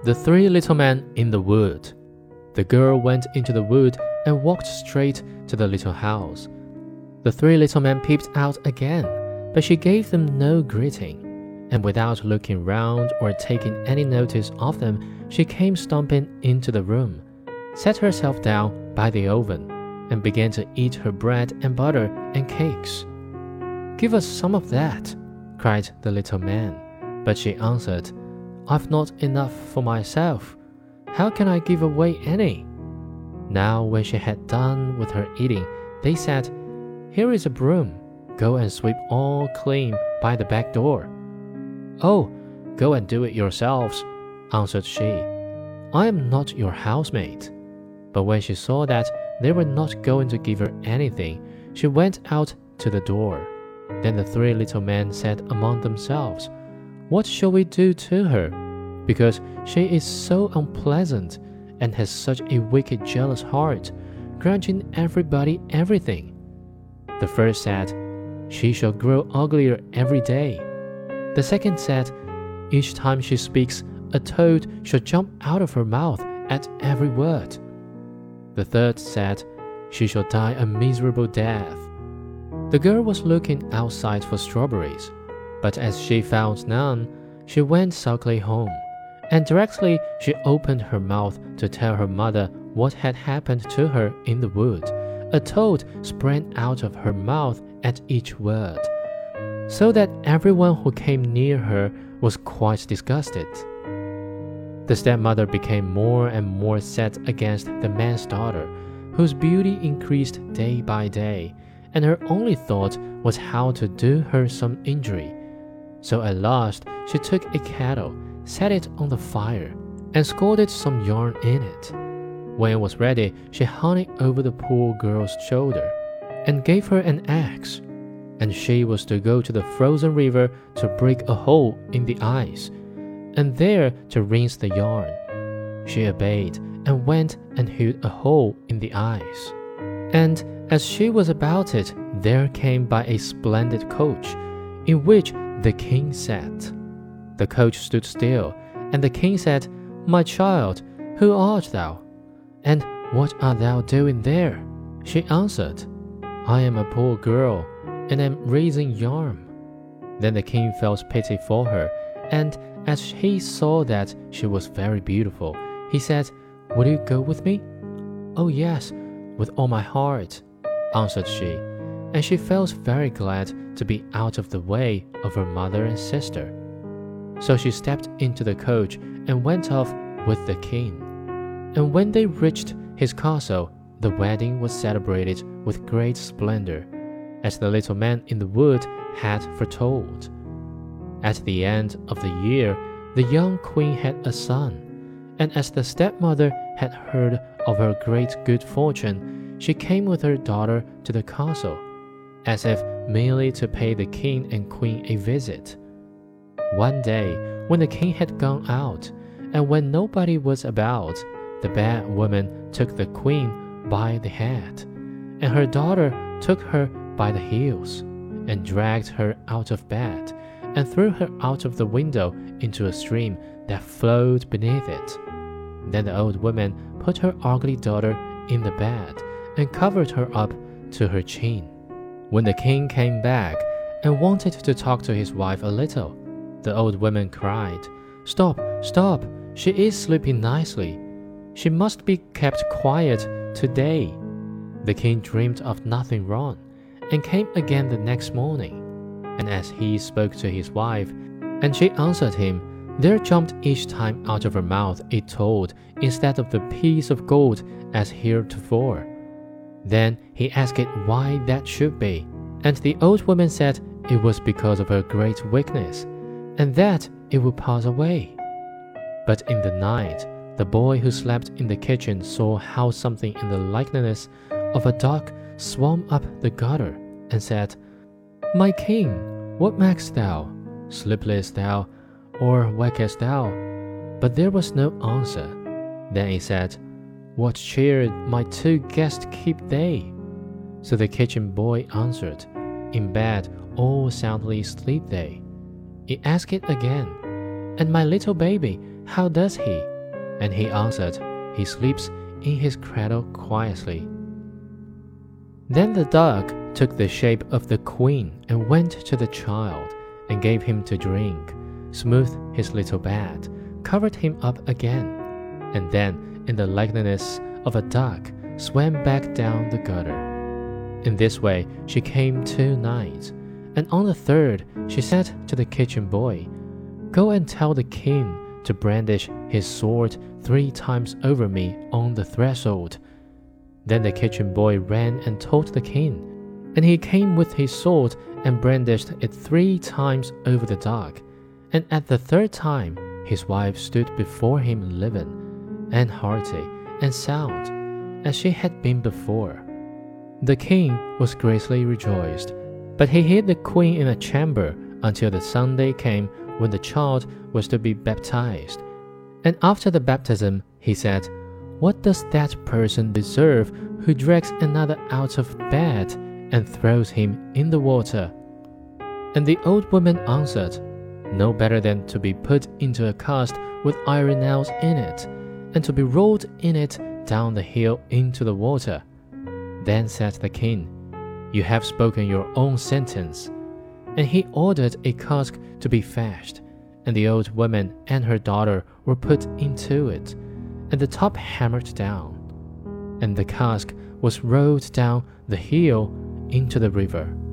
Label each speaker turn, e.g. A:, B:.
A: The Three Little Men in the Wood. The girl went into the wood and walked straight to the little house. The three little men peeped out again, but she gave them no greeting, and without looking round or taking any notice of them, she came stomping into the room, sat herself down by the oven, and began to eat her bread and butter and cakes. "Give us some of that," cried the little man, but she answered, "I've not enough for myself. How can I give away any?" Now when she had done with her eating, they said, "Here is a broom. Go and sweep all clean by the back door." "Oh, go and do it yourselves," answered she. "I am not your housemaid." But when she saw that they were not going to give her anything, she went out to the door. Then the three little men said among themselves, "What shall we do to her? Because she is so unpleasant and has such a wicked, jealous heart, grudging everybody everything." The first said, "She shall grow uglier every day." The second said, "Each time she speaks, a toad shall jump out of her mouth at every word." The third said, "She shall die a miserable death." The girl was looking outside for strawberries, but as she found none, she went sulkily home, and directly she opened her mouth to tell her mother what had happened to her in the wood, a toad sprang out of her mouth at each word, so that everyone who came near her was quite disgusted. The stepmother became more and more set against the man's daughter, whose beauty increased day by day, and her only thought was how to do her some injury. So at last she took a kettle, set it on the fire, and scalded some yarn in it. When it was ready, she hung it over the poor girl's shoulder, and gave her an axe, and she was to go to the frozen river to break a hole in the ice, and there to rinse the yarn. She obeyed, and went and hewed a hole in the ice. And as she was about it, there came by a splendid coach, in which the king sat. The coach stood still, and the king said, "My child, who art thou? And what art thou doing there?" She answered, "I am a poor girl, and am raising yarn." Then the king felt pity for her, and as he saw that she was very beautiful, he said, "Will you go with me?" "Oh yes, with all my heart," answered she, and she felt very glad to be out of the way of her mother and sister. So she stepped into the coach and went off with the king. And when they reached his castle, the wedding was celebrated with great splendor, as the little man in the wood had foretold. At the end of the year, the young queen had a son, and as the stepmother had heard of her great good fortune, she came with her daughter to the castle, as if merely to pay the king and queen a visit. One day, when the king had gone out, and when nobody was about, the bad woman took the queen by the head, and her daughter took her by the heels, and dragged her out of bed, and threw her out of the window into a stream that flowed beneath it. Then the old woman put her ugly daughter in the bed, and covered her up to her chin. When the king came back and wanted to talk to his wife a little, the old woman cried, "Stop, stop, she is sleeping nicely. She must be kept quiet today." The king dreamed of nothing wrong, and came again the next morning. And as he spoke to his wife, and she answered him, there jumped each time out of her mouth a toad instead of the piece of gold as heretofore. Then he asked it why that should be, and the old woman said it was because of her great weakness, and that it would pass away. But in the night, the boy who slept in the kitchen saw how something in the likeness of a duck swam up the gutter, and said, "My king, what makest thou? Sleepest thou, or wakest thou?" But there was no answer. Then he said, "What cheer my two guests keep they?" So the kitchen boy answered, "In bed all soundly sleep they." He asked it again, "And my little baby, how does he?" And he answered, He sleeps in his cradle quietly. Then the dog took the shape of the queen and went to the child and gave him to drink, smoothed his little bed, covered him up again, and then, in the likeness of a duck, swam back down the gutter. In this way she came 2 nights, and on the 3rd she said to the kitchen boy, Go and tell the king to brandish his sword 3 times over me on the threshold. Then the kitchen boy ran and told the king, and he came with his sword and brandished it 3 times over the dog. And at the 3rd time his wife stood before him living, and hearty, and sound, as she had been before. The king was greatly rejoiced, but he hid the queen in a chamber until the Sunday came when the child was to be baptized. And after the baptism he said, What does that person deserve who drags another out of bed and throws him in the water? And the old woman answered, No better than to be put into a cask with iron nails in it, and to be rolled in it down the hill into the water. Then said the king, You have spoken your own sentence. And he ordered a cask to be fetched, and the old woman and her daughter were put into it, and the top hammered down, and the cask was rolled down the hill into the river.